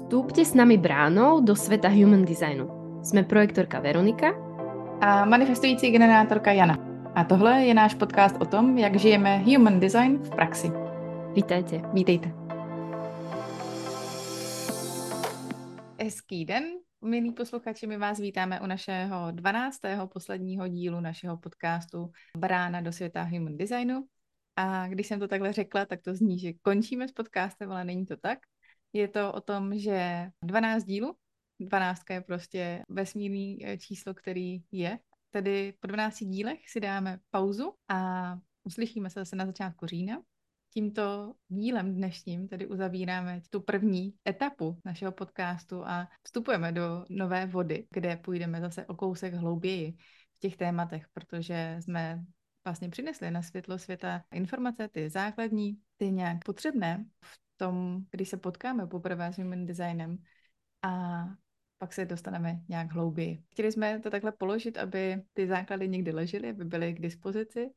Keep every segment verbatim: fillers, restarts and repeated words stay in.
Vstúpte s nami bránou do sveta human designu. Jsme projektorka Veronika a manifestující generátorka Jana. A tohle je náš podcast o tom, jak žijeme human design v praxi. Vítajte. Vítejte. Hezký den, milí posluchači, my vás vítáme u našeho dvanáctého posledního dílu našeho podcastu Brána do světa human designu. A když jsem to takhle řekla, tak to zní, že končíme s podcastem, ale není to tak. Je to o tom, že dvanáct dílů, dvanáctka je prostě vesmírný číslo, který je. Tedy po dvanácti dílech si dáme pauzu a uslyšíme se zase na začátku října. Tímto dílem dnešním tedy uzavíráme tu první etapu našeho podcastu a vstupujeme do nové vody, kde půjdeme zase o kousek hlouběji v těch tématech, protože jsme vlastně přinesli na světlo světa informace, ty základní, ty nějak potřebné v tom, když se potkáme poprvé s human designem a pak se dostaneme nějak hlouběji. Chtěli jsme to takhle položit, aby ty základy někdy ležely, aby byly k dispozici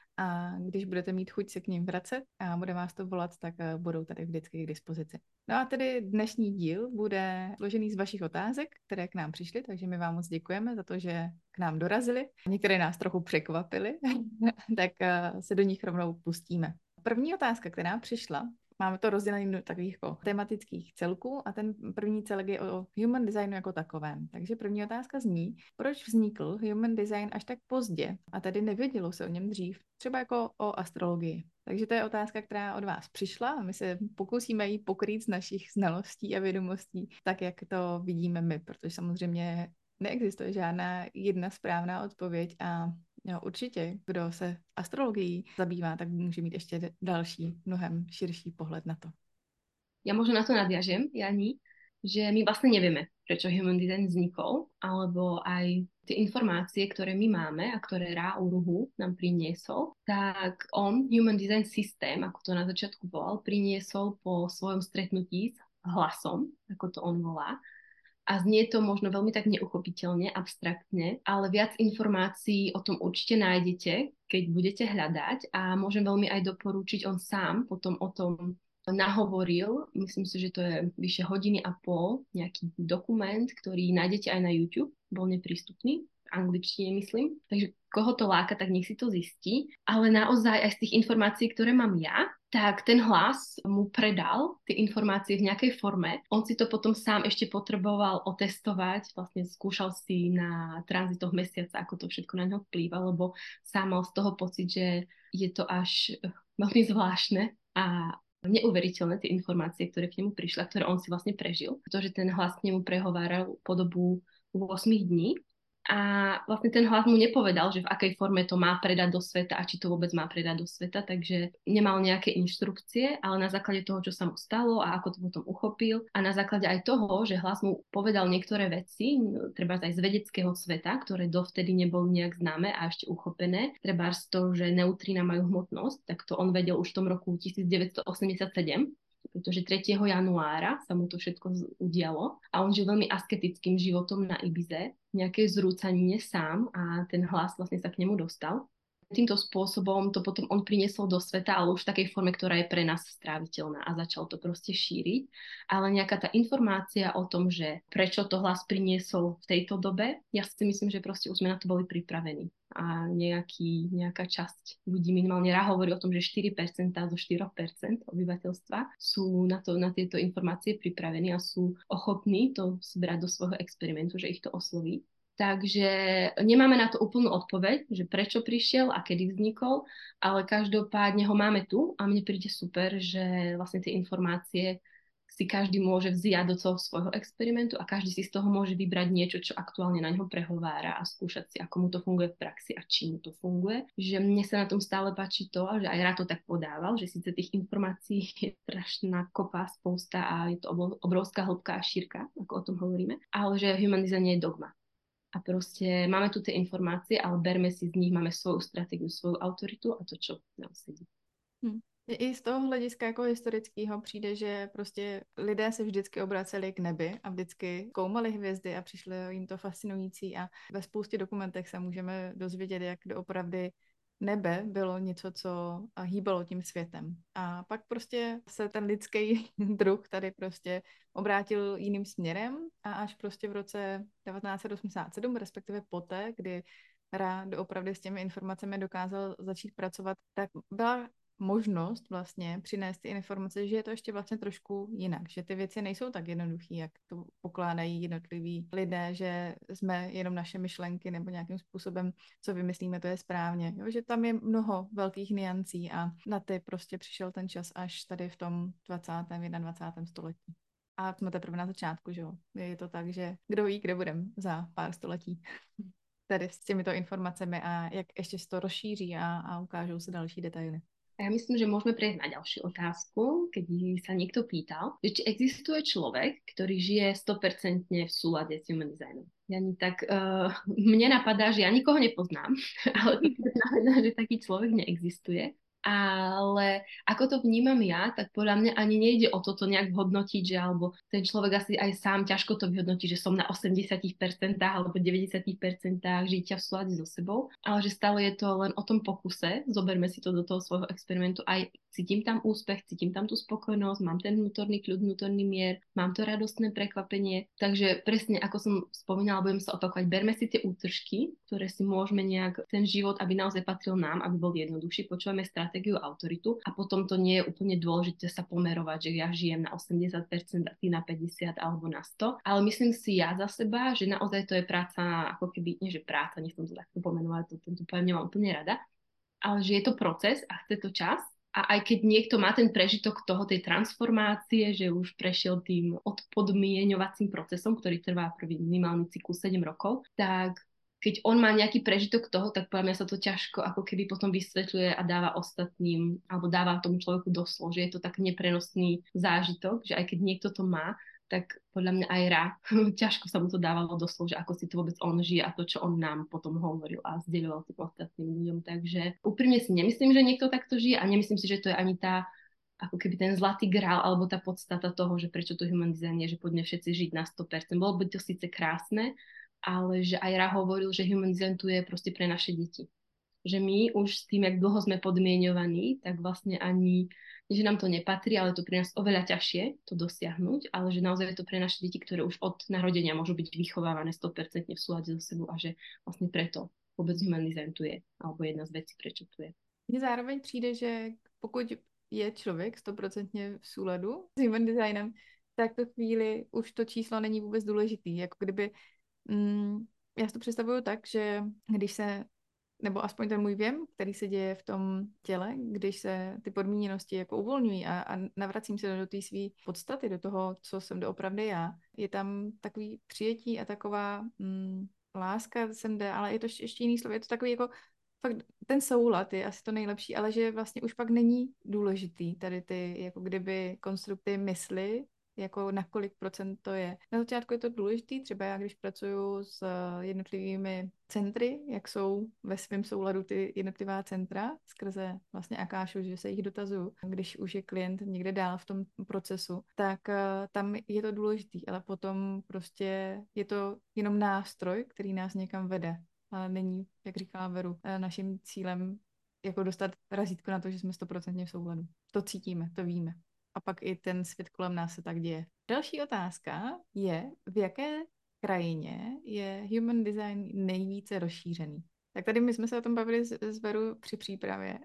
a když budete mít chuť se k ním vracet a bude vás to volat, tak budou tady vždycky k dispozici. No a tedy dnešní díl bude složený z vašich otázek, které k nám přišly, takže my vám moc děkujeme za to, že k nám dorazily. Některé nás trochu překvapily, tak se do nich rovnou pustíme. První otázka, která přišla, máme to rozdělené do takových jako tematických celků a ten první celek je o human designu jako takovém. Takže první otázka zní, proč vznikl human design až tak pozdě a tady nevědělo se o něm dřív, třeba jako o astrologii. Takže to je otázka, která od vás přišla a my se pokusíme ji pokrýt z našich znalostí a vědomostí tak, jak to vidíme my, protože samozřejmě neexistuje žádná jedna správná odpověď a jo, určitě, kdo se astrologií zabývá, tak může mít ještě další, mnohem širší pohled na to. Ja možno na to nadviažem, Jani, že my vlastne nevieme, prečo human design vznikol, alebo aj tie informácie, ktoré my máme a ktoré Ra Uruhu nám priniesol, tak on human design systém, ako to na začiatku volal, priniesol po svojom stretnutí s hlasom, ako to on volá. A znie to možno veľmi tak neuchopiteľne, abstraktne, ale viac informácií o tom určite nájdete, keď budete hľadať a môžem veľmi aj doporučiť, on sám potom o tom nahovoril, myslím si, že to je vyše hodiny a pol, nejaký dokument, ktorý nájdete aj na YouTube, bol neprístupný, v angličtine myslím, takže koho to láka, tak nech si to zistí, ale naozaj aj z tých informácií, ktoré mám ja, tak ten hlas mu predal tie informácie v nejakej forme. On si to potom sám ešte potreboval otestovať, vlastne skúšal si na tranzitoch mesiaca, ako to všetko na ňo vplýva, lebo sám mal z toho pocit, že je to až veľmi zvláštne a neuveriteľné tie informácie, ktoré k nemu prišli, ktoré on si vlastne prežil, pretože ten hlas k nemu prehováral po dobu osem dní. A vlastne ten hlas mu nepovedal, že v akej forme to má predať do sveta a či to vôbec má predať do sveta, takže nemal nejaké inštrukcie, ale na základe toho, čo sa mu stalo a ako to potom uchopil a na základe aj toho, že hlas mu povedal niektoré veci, treba aj z vedeckého sveta, ktoré dovtedy neboli nejak známe a ešte uchopené, treba z toho, že neutrína majú hmotnosť, tak to on vedel už v tom roku devätnásťstoosemdesiatsedem, pretože tretieho januára sa mu to všetko udialo a on žil veľmi asketickým životom na Ibize, nejakej zrúcanine sám a ten hlas vlastne sa k nemu dostal. Týmto spôsobom to potom on priniesol do sveta, ale už v takej forme, ktorá je pre nás stráviteľná a začal to proste šíriť. Ale nejaká tá informácia o tom, že prečo to hlas priniesol v tejto dobe, ja si myslím, že proste už sme na to boli pripravení. A nejaký, nejaká časť ľudí, minimálne Ra hovorí o tom, že štyri percentá zo štyri percentá obyvateľstva sú na, to, na tieto informácie pripravení a sú ochotní to zbrať do svojho experimentu, že ich to osloví. Takže nemáme na to úplnú odpoveď, že prečo prišiel a kedy vznikol, ale každopádne ho máme tu a mne príde super, že vlastne tie informácie si každý môže vziať do toho svojho experimentu a každý si z toho môže vybrať niečo, čo aktuálne na ňo prehovára a skúšať si, ako mu to funguje v praxi a či mu to funguje. Že mne sa na tom stále páči to, že aj Ra to tak podával, že síce tých informácií je strašná kopa, spousta a je to obrovská hĺbka a šírka, ako o tom hovoríme, ale že human design nie je dogma. A proste máme tu tie informácie, ale berme si z nich, máme svoju stratégiu, svoju autoritu a to, čo nám sedí. Hm. I z toho hlediska jako historického přijde, že prostě lidé se vždycky obraceli k nebi a vždycky koumali hvězdy a přišlo jim to fascinující a ve spoustě dokumentech se můžeme dozvědět, jak doopravdy nebe bylo něco, co hýbalo tím světem. A pak prostě se ten lidský druh tady prostě obrátil jiným směrem a až prostě v roce devatenáct set osmdesát sedm, respektive poté, kdy Ra doopravdy s těmi informacemi dokázal začít pracovat, tak byla možnost vlastně přinést ty informace, že je to ještě vlastně trošku jinak, že ty věci nejsou tak jednoduchý, jak to pokládají jednotliví lidé, že jsme jenom naše myšlenky nebo nějakým způsobem, co vymyslíme, to je správně. Jo? Že tam je mnoho velkých niancí a na ty prostě přišel ten čas až tady v tom dvacátém jednadvacátém století. A jsme teprve na začátku, že jo. Je to tak, že kdo ví, kde budeme za pár století. Tady s těmito informacemi a jak ještě se to rozšíří a, a ukážou se další detaily. A ja myslím, že môžeme prejsť na ďalšiu otázku, keď sa niekto pýtal, že či existuje človek, ktorý žije sto percent v súlade s human designom. Jani, tak uh, mne napadá, že ja nikoho nepoznám, ale to znamená, že taký človek neexistuje. Ale ako to vnímam ja, tak podľa mňa ani nejde o toto nejak hodnotiť, že alebo ten človek asi aj sám ťažko to vyhodnotí, že som na osemdesiat percent alebo deväťdesiat percent žitia v súlade so sebou, ale že stále je to len o tom pokuse, zoberme si to do toho svojho experimentu, aj cítim tam úspech, cítim tam tú spokojnosť, mám ten vnútorný kľud, vnútorný mier, mám to radostné prekvapenie, takže presne ako som spomínala, budem sa opakovať, berme si tie útržky, ktoré si môžeme nejak, ten život, aby naozaj patril nám, aby bol jednoduchší, počúvame stratégiu a autoritu a potom to nie je úplne dôležité sa pomerovať, že ja žijem na osemdesiat percent a ty na päťdesiat alebo na sto, ale myslím si ja za seba, že naozaj to je práca, ako keby, nie že práca, nechcem to takto pomenovať, to, tento pojem nemám úplne rada, ale že je to proces a chce to čas. A aj keď niekto má ten prežitok toho, tej transformácie, že už prešiel tým odpodmieňovacím procesom, ktorý trvá prvý minimálny cyklus sedem rokov, tak keď on má nejaký prežitok toho, tak podľa mňa sa to ťažko ako keby potom vysvetľuje a dáva ostatným, alebo dáva tomu človeku doslov, že je to tak neprenosný zážitok, že aj keď niekto to má, tak podľa mňa aj Ra, ťažko sa mu to dávalo doslov, že ako si to vôbec on žije a to, čo on nám potom hovoril a zdieľoval tým ostatným ľuďom. Takže úprimne si nemyslím, že niekto takto žije a nemyslím si, že to je ani tá, ako keby ten zlatý grál alebo tá podstata toho, že prečo to human design je, že poďme všetci žiť na sto percent. Bolo by to síce krásne, ale že aj Ra hovoril, že human design tu je proste pre naše deti. Že my už s tým, jak dlho sme podmienovaní, tak vlastne ani že nám to nepatrí, ale to pre nás oveľa ťažšie to dosiahnuť, ale že naozaj je to pre naše deti, ktoré už od narodenia môžu byť vychovávané sto percent v súlade so sebou a že vlastne preto vôbec human design tu je, alebo jedna z vecí, prečo tu je. Mně zároveň přijde, že pokud je člověk stoprocentně v souladu s human designem, tak to chvíli už to číslo není vůbec důležitý. Jako kdyby, mm, já si to představuju tak, že když se nebo aspoň ten můj věm, který se děje v tom těle, když se ty podmíněnosti jako uvolňují a, a navracím se do té své podstaty, do toho, co jsem doopravdy já, je tam takový přijetí a taková mm, láska sem jde, ale je to ještě jiný slovo, je to takový jako fakt ten soulad je asi to nejlepší, ale že vlastně už pak není důležitý tady ty jako kdyby konstrukty mysli, jako na kolik procent to je. Na začátku je to důležitý, třeba já když pracuju s jednotlivými centry, jak jsou ve svém souladu ty jednotlivá centra skrze vlastně Akášu, že se jich dotazuju. Když už je klient někde dál v tom procesu, tak uh, tam je to důležitý, ale potom prostě je to jenom nástroj, který nás někam vede. Ale není, jak říkala Veru, naším cílem jako dostat razítko na to, že jsme stoprocentně v souladu. To cítíme, to víme. A pak i ten svět kolem nás se tak děje. Další otázka je, v jaké krajině je human design nejvíce rozšířený. Tak tady my jsme se o tom bavili s, s Veru při přípravě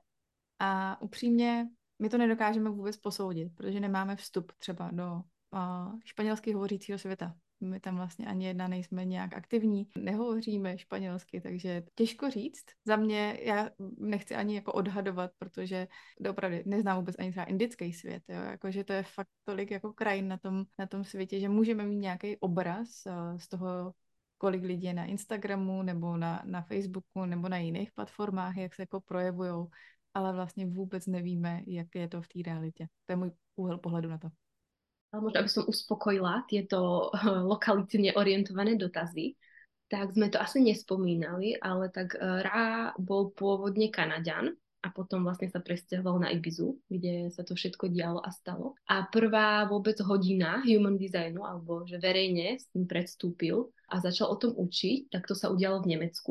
a upřímně my to nedokážeme vůbec posoudit, protože nemáme vstup třeba do uh, španělsky hovořícího světa. My tam vlastně ani jedna nejsme nějak aktivní, nehovoříme španělsky, takže těžko říct. Za mě, já nechci ani jako odhadovat, protože opravdu neznám vůbec ani třeba indický svět, jo? Jakože to je fakt tolik jako krajin na tom, na tom světě, že můžeme mít nějaký obraz uh, z toho, kolik lidí je na Instagramu nebo na, na Facebooku nebo na jiných platformách, jak se jako projevujou, ale vlastně vůbec nevíme, jak je to v té realitě. To je můj úhel pohledu na to. Ale možno, aby som uspokojila tieto lokalitne orientované dotazy, tak sme to asi nespomínali, ale tak Ra bol pôvodne Kanaďan a potom vlastne sa presťahoval na Ibizu, kde sa to všetko dialo a stalo. A prvá vôbec hodina human designu, alebo že verejne s tým predstúpil a začal o tom učiť, tak to sa udialo v Nemecku.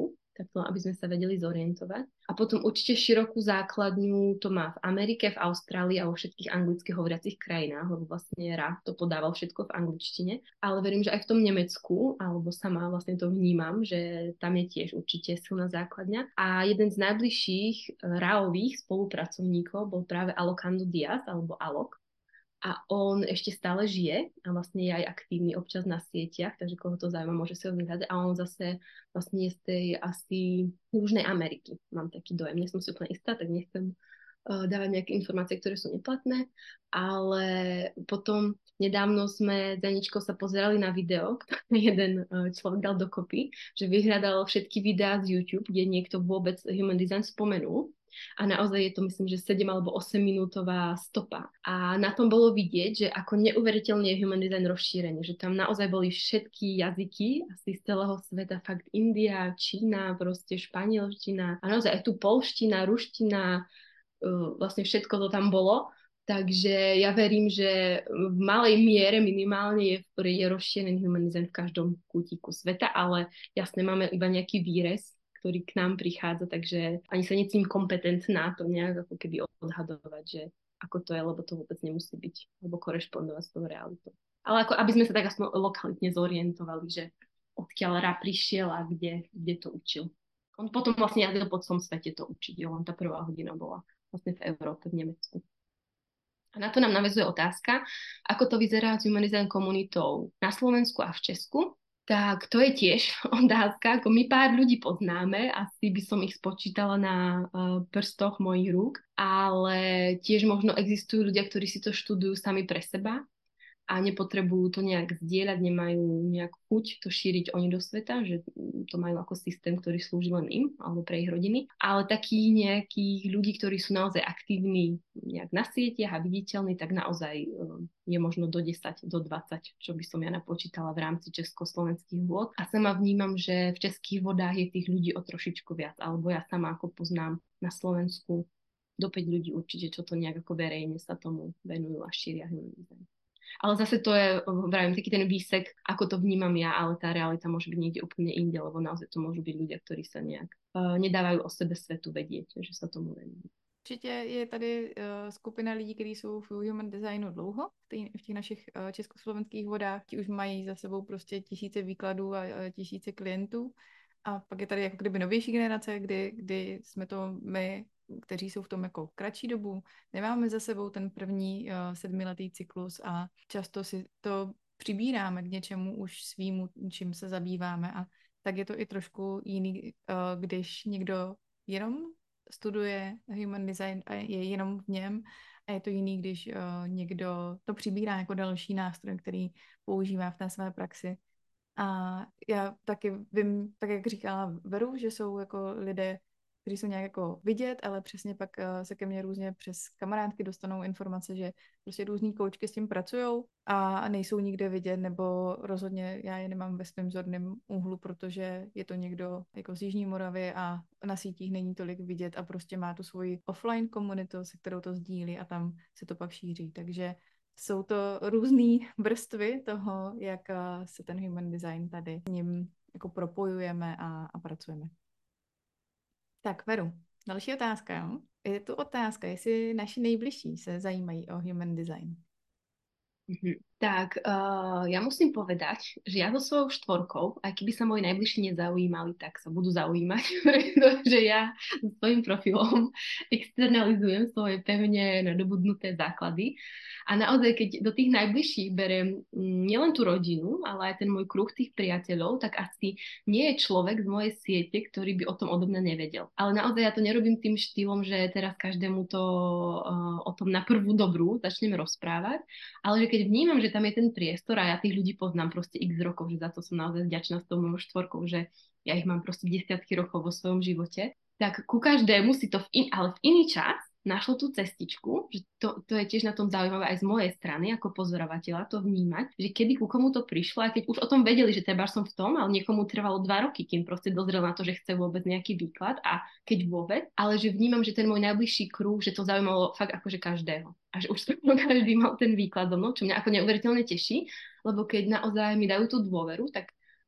tak to, aby sme sa vedeli zorientovať. A potom určite širokú základňu to má v Amerike, v Austrálii a vo všetkých anglicky hovoriacich krajinách, lebo vlastne rád to podával všetko v angličtine. Ale verím, že aj v tom Nemecku, alebo sama vlastne to vnímam, že tam je tiež určite silná základňa. A jeden z najbližších ráových spolupracovníkov bol práve Alokando Diaz, alebo Alok. A on ešte stále žije a vlastne je aj aktívny občas na sieťach, takže koho to zaujíma, môže si ho vyhľadať. A on zase vlastne je z tej asi Južnej Ameriky. Mám taký dojem, nie som si úplne istá, tak nechcem uh, dávať nejaké informácie, ktoré sú neplatné. Ale potom nedávno sme s Aničkou sa pozerali na video, ktoré jeden uh, človek dal dokopy, že vyhľadal všetky videá z YouTube, kde niekto vôbec human design spomenul. A naozaj je to, myslím, že sedem alebo osem minútová stopa. A na tom bolo vidieť, že ako neuveriteľne je human design rozšírený, že tam naozaj boli všetky jazyky, asi z celého sveta, fakt India, Čína, proste španielština a naozaj aj tu polština, ruština, vlastne všetko to tam bolo. Takže ja verím, že v malej miere minimálne je, je rozšírený human design v každom kútiku sveta, ale jasne máme iba nejaký výrez, ktorý k nám prichádza, takže ani sa necítim kompetentná to nejak ako keby odhadovať, že ako to je, lebo to vôbec nemusí byť, alebo korešpondovať s tou realitou. Ale ako, aby sme sa tak aspoň lokalitne zorientovali, že odkiaľ Ra prišiel a kde, kde to učil. On potom vlastne jazdil po celom svete to učiť, jo, len tá prvá hodina bola vlastne v Európe, v Nemecku. A na to nám naväzuje otázka, ako to vyzerá s human design komunitou na Slovensku a v Česku. Tak to je tiež otázka, ako my pár ľudí poznáme, asi by som ich spočítala na uh, prstoch mojich rúk, ale tiež možno existujú ľudia, ktorí si to študujú sami pre seba a nepotrebujú to nejak zdieľať, nemajú nejak chuť to šíriť oni do sveta, že to majú ako systém, ktorý slúži len im alebo pre ich rodiny. Ale takých nejakých ľudí, ktorí sú naozaj aktívni nejak na sieťach a viditeľní, tak naozaj je možno do desať, do dvadsať, čo by som ja napočítala v rámci československých vôd. A sama vnímam, že v českých vodách je tých ľudí o trošičku viac, alebo ja sama ako poznám na Slovensku do päť ľudí určite, čo to nejak ako verejne sa tomu venujú a šíria human design. Ale zase to je, vravím, taký ten výsek, ako to vnímam ja, ale tá realita môže byť niekde úplne inde, lebo naozaj to môžu byť ľudia, ktorí sa nejak uh, nedávajú o sebe svetu vedieť, že sa tomu venujú. Určitě je tady uh, skupina lidí, kteří jsou v human designu dlouho, v, tý, v těch našich uh, československých vodách, ti už mají za sebou prostě tisíce výkladů a uh, tisíce klientů. A pak je tady jako kdyby novější generace, kdy, kdy jsme to my, kteří jsou v tom jako kratší dobu, nemáme za sebou ten první uh, sedmiletý cyklus a často si to přibíráme k něčemu už svýmu, čím se zabýváme. A tak je to i trošku jiný, uh, když někdo jenom studuje human design a je jenom v něm, a je to jiný, když uh, někdo to přibírá jako další nástroj, který používá v té své praxi. A já taky vím, tak jak říkala Veru, že jsou jako lidé, kteří jsou nějak jako vidět, ale přesně pak uh, se ke mně různě přes kamarádky dostanou informace, že prostě různý koučky s tím pracujou a nejsou nikde vidět, nebo rozhodně já je nemám ve svém zorném úhlu, protože je to někdo jako z Jižní Moravy a na sítích není tolik vidět a prostě má tu svoji offline komunitu, se kterou to sdílí a tam se to pak šíří. Takže jsou to různé vrstvy toho, jak se ten human design tady s ním jako propojujeme a, a pracujeme. Tak, Veru, další otázka. Jo? Je tu otázka, jestli naši nejbližší se zajímají o human design. Mm-hmm. Tak uh, ja musím povedať, že ja so svojou štvorkou, aj keby sa moji najbližší nezaujímali, tak sa budú zaujímať, pretože ja so svojím profilom externalizujem svoje pevne nadobudnuté základy. A naozaj, keď do tých najbližších beriem nielen tú rodinu, ale aj ten môj kruh tých priateľov, tak asi nie je človek z mojej siete, ktorý by o tom odo mňa nevedel. Ale naozaj ja to nerobím tým štýlom, že teraz každému to uh, o tom na prvú dobrú začneme rozprávať, ale že keď vnímam, že tam je ten priestor a ja tých ľudí poznám proste x rokov, že za to som naozaj vďačná s tou mojou štvorkou, že ja ich mám proste desiatky rokov vo svojom živote, tak ku každému si to v in, ale v iný čas našlo tú cestičku, že to, to je tiež na tom zaujímavé aj z mojej strany ako pozorovateľa to vnímať, že kedy ku komu to prišlo, a keď už o tom vedeli, že treba som v tom, ale niekomu trvalo dva roky, kým proste dozrel na to, že chce vôbec nejaký výklad a keď vôbec, ale že vnímam, že ten môj najbližší kruh, že to zaujímalo fakt akože každého. A že už každý mal ten výklad so mnou, čo mňa ako neuveriteľne teší, lebo keď naozaj mi dajú tú dôveru, tak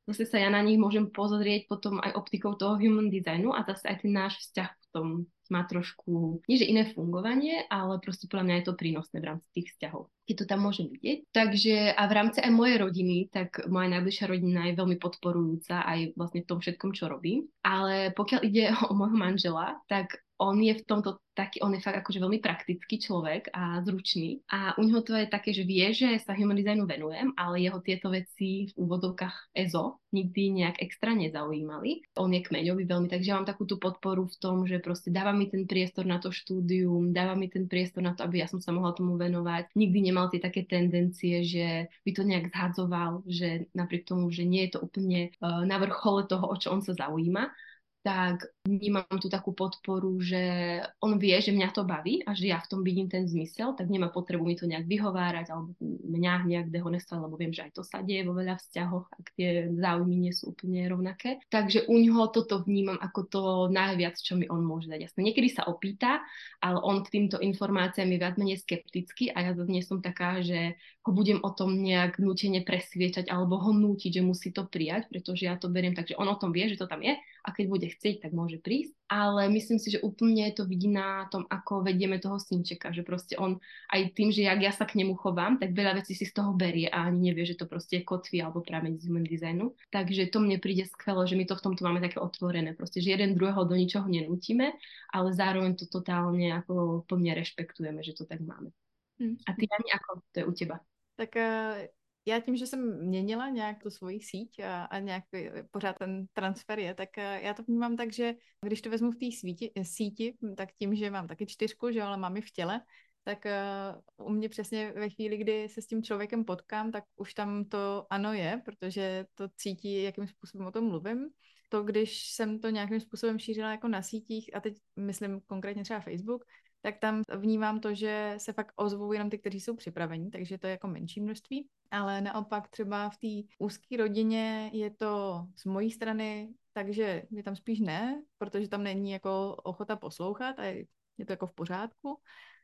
zase sa ja na nich môžem pozrieť potom aj optikou toho human designu a zase aj ten náš vzťah v tom má trošku, nie že iné fungovanie, ale proste podľa mňa je to prínosné v rámci tých vzťahov, keď to tam môžem vidieť. Takže a v rámci aj mojej rodiny, tak moja najbližšia rodina je veľmi podporujúca aj vlastne v tom všetkom, čo robím. Ale pokiaľ ide o môjho manžela, tak on je v tomto taký, on je fakt akože veľmi praktický človek a zručný a u neho to je také, že vie, že sa human designu venujem, ale jeho tieto veci v úvodovkách é zet o nikdy nejak extra nezaujímali. On je kmeňový veľmi, takže ja mám takú tú podporu v tom, že proste dáva mi ten priestor na to štúdium, dáva mi ten priestor na to, aby ja som sa mohla tomu venovať. Nikdy nemal tie také tendencie, že by to nejak zhadzoval, že napriek tomu, že nie je to úplne uh, na vrchole toho, o čo on sa zaujíma, tak vnímam tu takú podporu, že on vie, že mňa to baví a že ja v tom vidím ten zmysel, tak nemá potrebu mi to nejak vyhovárať alebo mňa nejak dehonestovať, lebo viem, že aj to sa deje vo veľa vzťahoch, ak tie záujmy nie sú úplne rovnaké. Takže u ňoho toto vnímam ako to najviac, čo mi on môže dať. Jasne, niekedy sa opýta, ale on k týmto informáciám je viac menej skeptický a ja zase nie som taká, že ho budem o tom nejak nútene presviečať alebo ho nútiť, že musí to prijať, pretože ja to beriem tak, že on o tom vie, že to tam je a keď bude chcieť, tak môže prísť. Ale myslím si, že úplne to vidí na tom, ako vedieme toho synčeka, že proste on aj tým, že jak ja sa k nemu chovám, tak veľa vecí si z toho berie a ani nevie, že to proste je kotví alebo prameň z human designu. Takže to mne príde skvelo, že my to v tomto máme také otvorené, proste, že jeden druhého do ničoho nenútime, ale zároveň to totálne ako plne rešpektujeme, že to tak máme. Hmm. A ty, Jani, ako to je u teba? Tak uh... Já tím, že jsem měnila nějak tu svoji síť a, a nějak pořád ten transfer je, tak já to vnímám tak, že když to vezmu v té síti, tak tím, že mám taky čtyřku, že ale mám ji v těle, tak uh, u mě přesně ve chvíli, kdy se s tím člověkem potkám, tak už tam to ano je, protože to cítí, jakým způsobem o tom mluvím. To, když jsem to nějakým způsobem šířila jako na sítích, a teď myslím konkrétně třeba Facebook, tak tam vnímám to, že se fakt ozvou jenom ty, kteří jsou připraveni, takže to je jako menší množství. Ale naopak třeba v té úzké rodině je to z mojí strany, takže je tam spíš ne, protože tam není jako ochota poslouchat a je, je to jako v pořádku.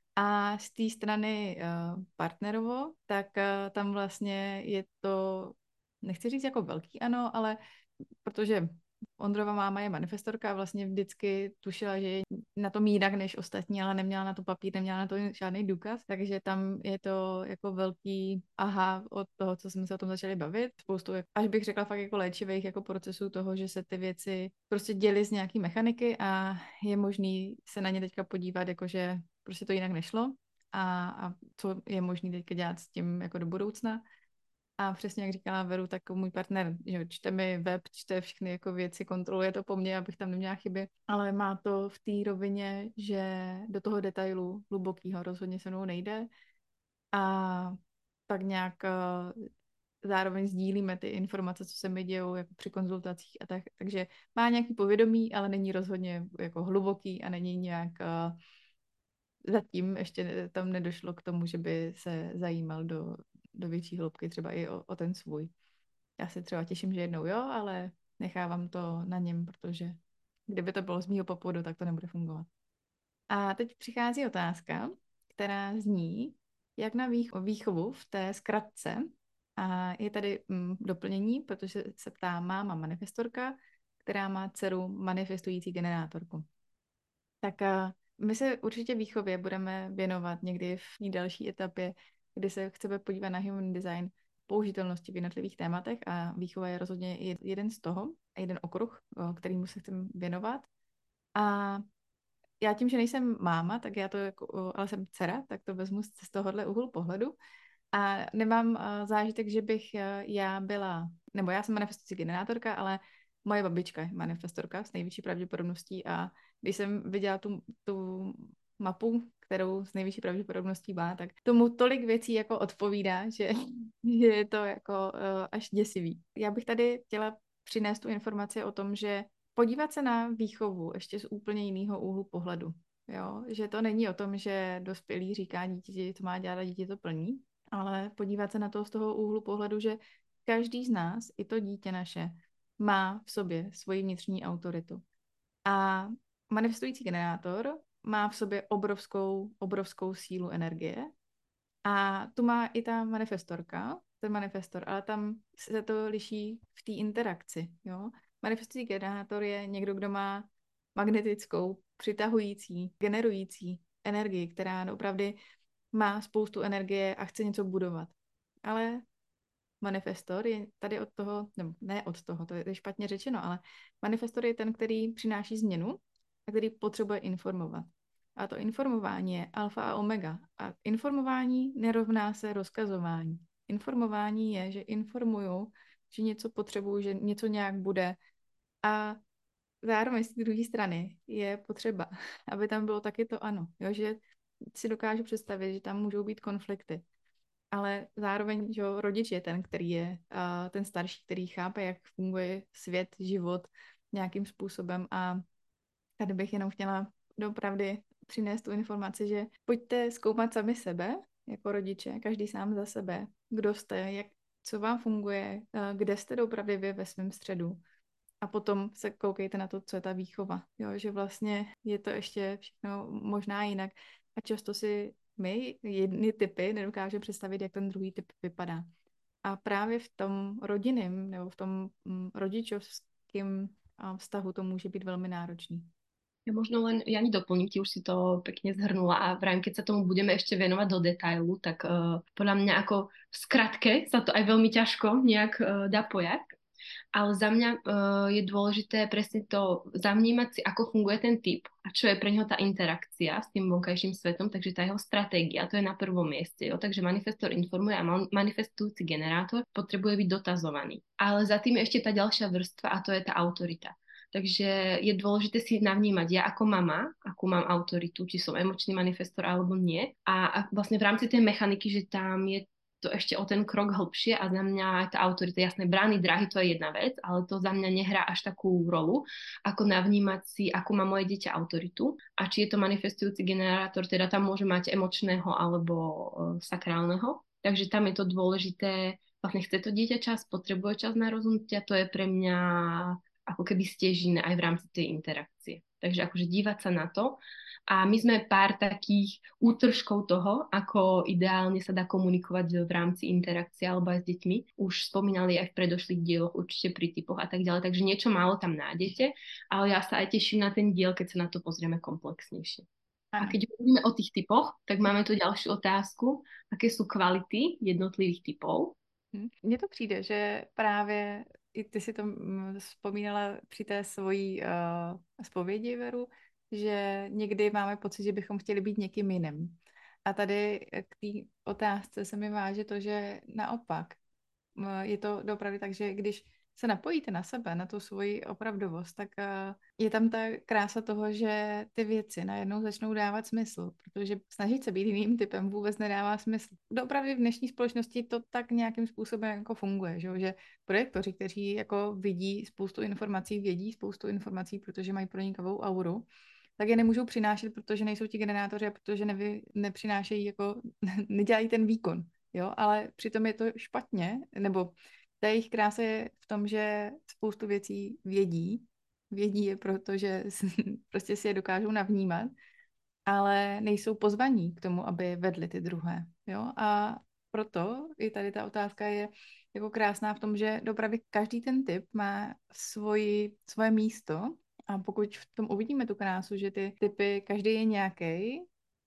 A z té strany uh, partnerovo, tak uh, tam vlastně je to, nechci říct jako velký ano, ale protože Ondrova máma je manifestorka a vlastně vždycky tušila, že je na tom jinak než ostatní, ale neměla na to papír, neměla na to žádný důkaz, takže tam je to jako velký aha od toho, co jsme se o tom začali bavit. Spoustu, až bych řekla fakt jako léčivých jako procesů toho, že se ty věci prostě děly z nějaký mechaniky a je možný se na ně teďka podívat, jakože prostě to jinak nešlo a, a co je možný teďka dělat s tím jako do budoucna. A přesně jak říkala Veru, tak můj partner, že čte mi web, čte všechny jako věci, kontroluje to po mně, abych tam neměla chyby, ale má to v té rovině, že do toho detailu hlubokýho rozhodně se mnou nejde a tak nějak uh, zároveň sdílíme ty informace, co se mi dějou jako při konzultacích a tak, takže má nějaký povědomí, ale není rozhodně jako hluboký a není nějak uh, zatím ještě tam nedošlo k tomu, že by se zajímal do do větší hloubky, třeba i o, o ten svůj. Já se třeba těším, že jednou jo, ale nechávám to na něm, protože kdyby to bylo z mýho popudu, tak to nebude fungovat. A teď přichází otázka, která zní, jak na výchovu v té zkratce, a je tady mm, doplnění, protože se ptá máma manifestorka, která má dceru manifestující generátorku. Tak a my se určitě výchově budeme věnovat někdy v další etapě, kdy se chceme podívat na human design použitelnosti v jednotlivých tématech a výchova je rozhodně jeden z toho, jeden okruh, kterýmu se chceme věnovat. A já tím, že nejsem máma, tak já to jako, ale jsem dcera, tak to vezmu z tohohle úhlu pohledu a nemám zážitek, že bych já byla, nebo já jsem manifestující generátorka, ale moje babička je manifestorka s největší pravděpodobností a když jsem viděla tu, tu mapu, kterou s nejvyšší pravděpodobností má, tak tomu tolik věcí jako odpovídá, že, že je to jako uh, až děsivý. Já bych tady chtěla přinést tu informaci o tom, že podívat se na výchovu ještě z úplně jiného úhlu pohledu. Jo? Že to není o tom, že dospělý říká dítěti, co má dělat a dítě to plní, ale podívat se na to z toho úhlu pohledu, že každý z nás, i to dítě naše, má v sobě svoji vnitřní autoritu. A manifestující generátor má v sobě obrovskou, obrovskou sílu energie a tu má i ta manifestorka ten manifestor, ale tam se to liší v té interakci, jo. Manifestující generátor je někdo, kdo má magnetickou, přitahující, generující energii, která opravdu má spoustu energie a chce něco budovat. Ale manifestor je tady od toho, nebo ne od toho, to je špatně řečeno, ale manifestor je ten, který přináší změnu a který potřebuje informovat. A to informování je alfa a omega. A informování nerovná se rozkazování. Informování je, že informuju, že něco potřebuju, že něco nějak bude. A zároveň z té druhé strany je potřeba, aby tam bylo taky to ano. Jo? Že si dokážu představit, že tam můžou být konflikty. Ale zároveň, že rodič je ten, který je uh, ten starší, který chápe, jak funguje svět, život nějakým způsobem. A tady bych jenom chtěla doopravdy přinést tu informaci, že pojďte zkoumat sami sebe, jako rodiče, každý sám za sebe, kdo jste, jak, co vám funguje, uh, kde jste doopravdy vy ve svém středu. A potom se koukejte na to, co je ta výchova. Jo, že vlastně je to ještě všechno možná jinak. A často si my jedny typy nedokáže představit, jak ten druhý typ vypadá. A právě v tom rodinném nebo v tom mm, rodičovském vztahu to může být velmi náročný. Ja možno len, ja ani doplním, ti už si to pekne zhrnula a vrajím, keď sa tomu budeme ešte venovať do detailu, tak uh, podľa mňa ako v skratke sa to aj veľmi ťažko nejak uh, dá pojať. Ale za mňa uh, je dôležité presne to zavnímať si, ako funguje ten typ a čo je pre neho tá interakcia s tým vonkajším svetom, takže tá jeho stratégia, to je na prvom mieste. Jo? Takže manifestor informuje a man- manifestujúci generátor potrebuje byť dotazovaný. Ale za tým je ešte tá ďalšia vrstva a to je tá autorita. Takže je dôležité si navnímať ja ako mama, akú mám autoritu, či som emočný manifestor alebo nie. A, a vlastne v rámci tej mechaniky, že tam je to ešte o ten krok hlbšie a za mňa tá autorita, jasné, brány, dráhy, to je jedna vec, ale to za mňa nehrá až takú rolu, ako navnímať si, akú má moje dieťa autoritu a či je to manifestujúci generátor, teda tam môže mať emočného alebo uh, sakrálneho. Takže tam je to dôležité, vlastne chce to dieťa čas, potrebuje čas na rozhodnutia, to je pre mňa ako keby stiežine aj v rámci tej interakcie. Takže akože dívať sa na to. A my sme pár takých útržkov toho, ako ideálne sa dá komunikovať v rámci interakcie alebo aj s deťmi. Už spomínali aj v predošlých dieloch, určite pri typoch a tak ďalej. Takže niečo málo tam nájdete, ale ja sa aj teším na ten diel, keď sa na to pozrieme komplexnejšie. Ano. A keď hovoríme o tých typoch, tak máme tu ďalšiu otázku. Aké sú kvality jednotlivých typov? Mně to přijde, že právě i ty si to vzpomínala při té svojí uh, zpovědi, Veru, že někdy máme pocit, že bychom chtěli být někým jiným. A tady k té otázce se mi váže to, že naopak je to opravdu tak, že když se napojíte na sebe, na tu svoji opravdovost, tak je tam ta krása toho, že ty věci najednou začnou dávat smysl, protože snažit se být jiným typem vůbec nedává smysl. Opravdu v dnešní společnosti to tak nějakým způsobem jako funguje, že, že projektoři, kteří jako vidí spoustu informací, vědí spoustu informací, protože mají pronikavou auru, tak je nemůžou přinášet, protože nejsou ti generátoři a protože nevy, nepřinášejí, jako nedělají ten výkon, jo, ale přitom je to špatně, nebo ta jejich krása je v tom, že spoustu věcí vědí, vědí je proto, že prostě si je dokážou navnímat, ale nejsou pozvaní k tomu, aby vedli ty druhé, jo, a proto i tady ta otázka je jako krásná v tom, že opravdu každý ten typ má svoji, svoje místo. A pokud v tom uvidíme tu krásu, že ty typy, každý je nějaký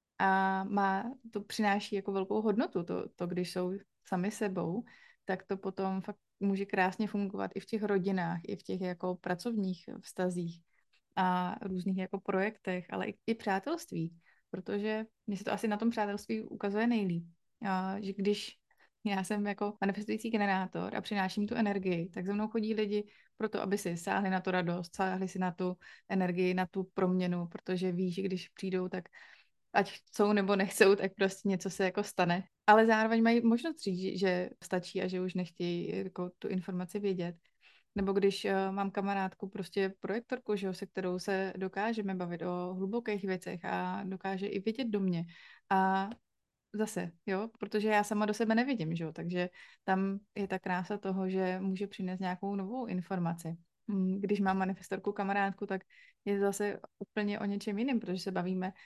a má, to přináší jako velkou hodnotu, to, to když jsou sami sebou, tak to potom fakt může krásně fungovat i v těch rodinách, i v těch jako pracovních vztazích a různých jako projektech, ale i, i přátelství, protože mně se to asi na tom přátelství ukazuje nejlíp. A, že když já jsem jako manifestující generátor a přináším tu energii, tak za mnou chodí lidi proto, aby si sáhli na tu radost, sáhli si na tu energii, na tu proměnu, protože ví, že když přijdou, tak ať chcou nebo nechcou, tak prostě něco se jako stane. Ale zároveň mají možnost říct, že stačí a že už nechtějí jako tu informaci vědět. Nebo když uh, mám kamarádku, prostě projektorku, že jo, se kterou se dokážeme bavit o hlubokých věcech a dokáže i vidět do mě. A zase, jo, protože já sama do sebe nevidím, že jo, takže tam je ta krása toho, že může přinést nějakou novou informaci. Když mám manifestorku kamarádku, tak je to zase úplně o něčem jiném, protože se bavíme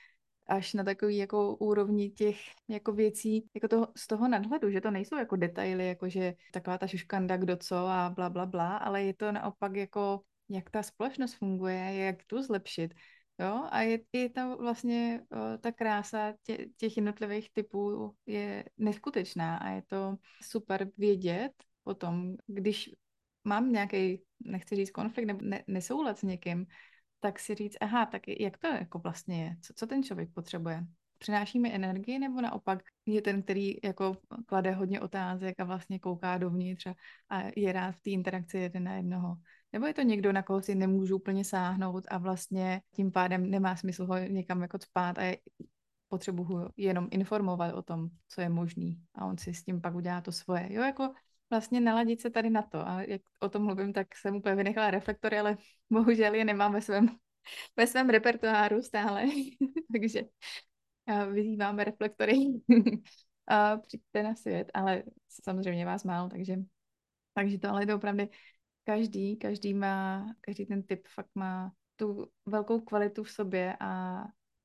až na takový jako úrovni těch jako věcí, jako toho, z toho nadhledu, že to nejsou jako detaily, jako že taková ta šuškanda, kdo co a bla, bla, bla, ale je to naopak jako, jak ta společnost funguje, jak tu zlepšit. Jo? A je, je tam vlastně o, ta krása tě, těch jednotlivých typů je neskutečná a je to super vědět potom, když mám nějaký, nechci říct konflikt nebo ne, nesoulad s někým, tak si říct, aha, tak jak to jako vlastně je, co, co ten člověk potřebuje. Přináší mi energii nebo naopak je ten, který jako klade hodně otázek a vlastně kouká dovnitř a, a je rád v té interakci jeden na jednoho. Nebo je to někdo, na koho si nemůžu úplně sáhnout a vlastně tím pádem nemá smysl ho někam jako cpát a je, potřebuju jenom informovat o tom, co je možný a on si s tím pak udělá to svoje. Jo, jako vlastně naladit se tady na to a jak o tom mluvím, tak jsem úplně vynechala reflektory, ale bohužel je nemám ve svém, ve svém repertoáru stále, takže vyzýváme reflektory a přijďte na svět, ale samozřejmě vás málo, takže, takže to ale je opravdu každý, každý má, každý ten typ fakt má tu velkou kvalitu v sobě a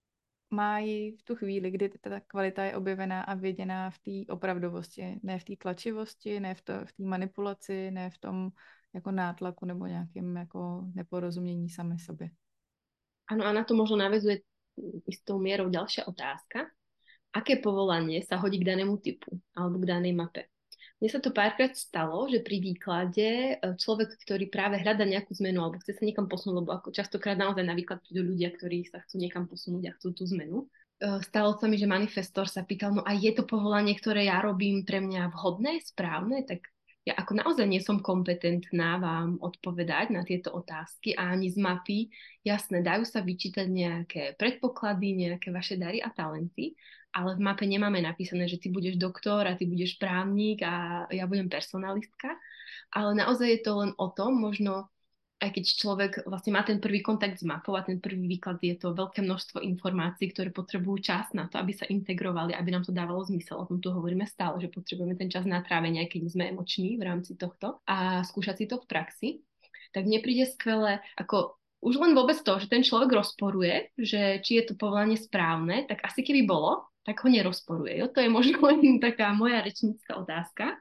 má ji v tu chvíli, kdy ta kvalita je objevená a věděná v té opravdovosti, ne v té tlačivosti, ne v té v manipulaci, ne v tom jako nátlaku nebo nějakým jako neporozumění sami sobě. Áno, a na to možno naväzuje istou mierou ďalšia otázka. Aké povolanie sa hodí k danému typu alebo k danej mape? Mne sa to párkrát stalo, že pri výklade človek, ktorý práve hľadá nejakú zmenu alebo chce sa niekam posunúť, lebo ako častokrát naozaj na výklad prídu ľudia, ktorí sa chcú niekam posunúť a chcú tú zmenu. Stalo sa mi, že manifestor sa pýtal, no a je to povolanie, ktoré ja robím pre mňa vhodné, správne? Tak ja ako naozaj nie som kompetentná vám odpovedať na tieto otázky a ani z mapy. Jasné, dajú sa vyčítať nejaké predpoklady, nejaké vaše dary a talenty, ale v mape nemáme napísané, že ty budeš doktor a ty budeš právnik a ja budem personalistka. Ale naozaj je to len o tom, možno aj keď človek vlastne má ten prvý kontakt s mapou a ten prvý výklad, je to veľké množstvo informácií, ktoré potrebujú čas na to, aby sa integrovali, aby nám to dávalo zmysel. O tom tu hovoríme stále, že potrebujeme ten čas na trávenie, aj keď sme emoční v rámci tohto a skúšať si to v praxi. Tak mne príde skvelé, ako už len vôbec to, že ten človek rozporuje, že či je to povolanie správne, tak asi keby bolo, tak ho nerozporuje. Jo? To je možno len taká moja rečnícka otázka.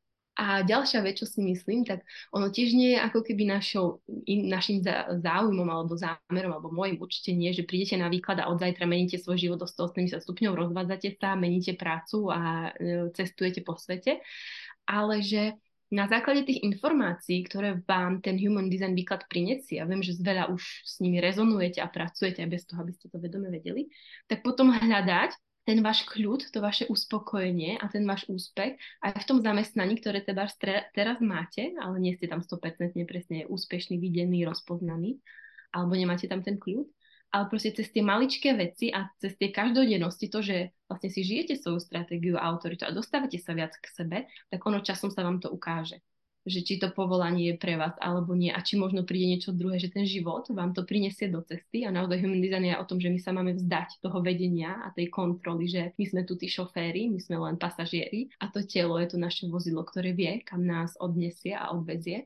A ďalšia vec, čo si myslím, tak ono tiež nie je ako keby našou, in, našim záujmom alebo zámerom, alebo môjim určite nie, že prídete na výklad a od zajtra meníte svoj život do stoosemdesiat stupňov, rozvádzate sa, meníte prácu a e, cestujete po svete, ale že na základe tých informácií, ktoré vám ten human design výklad prinesie, a viem, že veľa už s nimi rezonujete a pracujete aj bez toho, aby ste to vedome vedeli, tak potom hľadať ten váš kľud, to vaše uspokojenie a ten váš úspech aj v tom zamestnaní, ktoré teda teraz máte, ale nie ste tam sto percent presne úspešný, videný, rozpoznaný, alebo nemáte tam ten kľud, ale proste cez tie maličké veci a cez tie každodennosti, to, že vlastne si žijete svoju stratégiu a autoritu a dostávate sa viac k sebe, tak ono časom sa vám to ukáže. Že či to povolanie je pre vás alebo nie a či možno príde niečo druhé, že ten život vám to prinesie do cesty a naozaj human design je o tom, že my sa máme vzdať toho vedenia a tej kontroly, že my sme tu tí šoféri, my sme len pasažieri a to telo je to naše vozidlo, ktoré vie, kam nás odnesie a odvezie.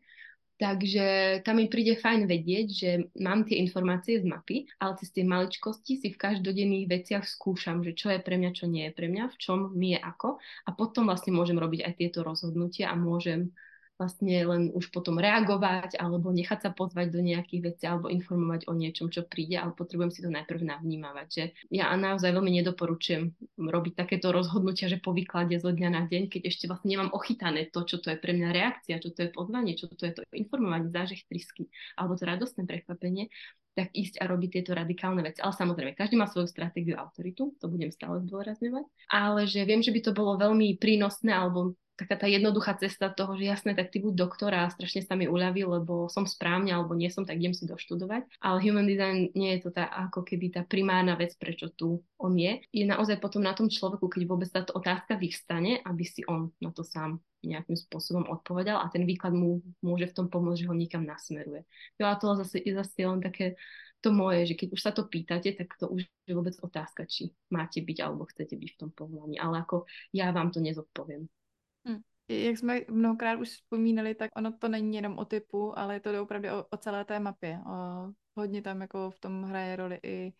Takže tam mi príde fajn vedieť, že mám tie informácie z mapy, ale cez tie maličkosti si v každodenných veciach skúšam, že čo je pre mňa, čo nie je pre mňa, v čom mi je ako a potom vlastne môžem robiť aj tieto rozhodnutia a môžem vlastne len už potom reagovať alebo nechať sa pozvať do nejakých vecí alebo informovať o niečom, čo príde, ale potrebujem si to najprv navnímavať. Že ja naozaj veľmi nedoporučujem robiť takéto rozhodnutia, že po výklade zo dňa na deň, keď ešte vlastne nemám ochytané to, čo to je pre mňa reakcia, čo to je pozvanie, čo to je to informovanie, zážeh trysky alebo to radostné prekvapenie, tak ísť a robiť tieto radikálne veci. Ale samozrejme, každý má svoju stratégiu a autoritu, to budem stále zdôrazňovať, ale že viem, že by to bolo veľmi prínosné alebo taká tá jednoduchá cesta toho, že jasné, tak ty buď doktora a strašne sa mi uľaví, lebo som správne alebo nie som, tak idem si doštudovať. Ale human design nie je to tá, ako keby tá primárna vec, prečo tu on je. Je naozaj potom na tom človeku, keď vôbec táto otázka vyvstane, aby si on na to sám nejakým spôsobom odpovedal a ten výklad mu môže v tom pomôcť, že ho niekam nasmeruje. Jo, a to zase je zase len také to moje, že keď už sa to pýtate, tak to už je vôbec otázka, či máte byť alebo chcete byť v tom povolaní. Ale ako ja vám to nezodpoviem. Hmm. Jak jsme mnohokrát už vzpomínali, tak ono to není jenom o typu, ale je to opravdu o, o celé té mapě. O, hodně tam jako v tom hraje roli i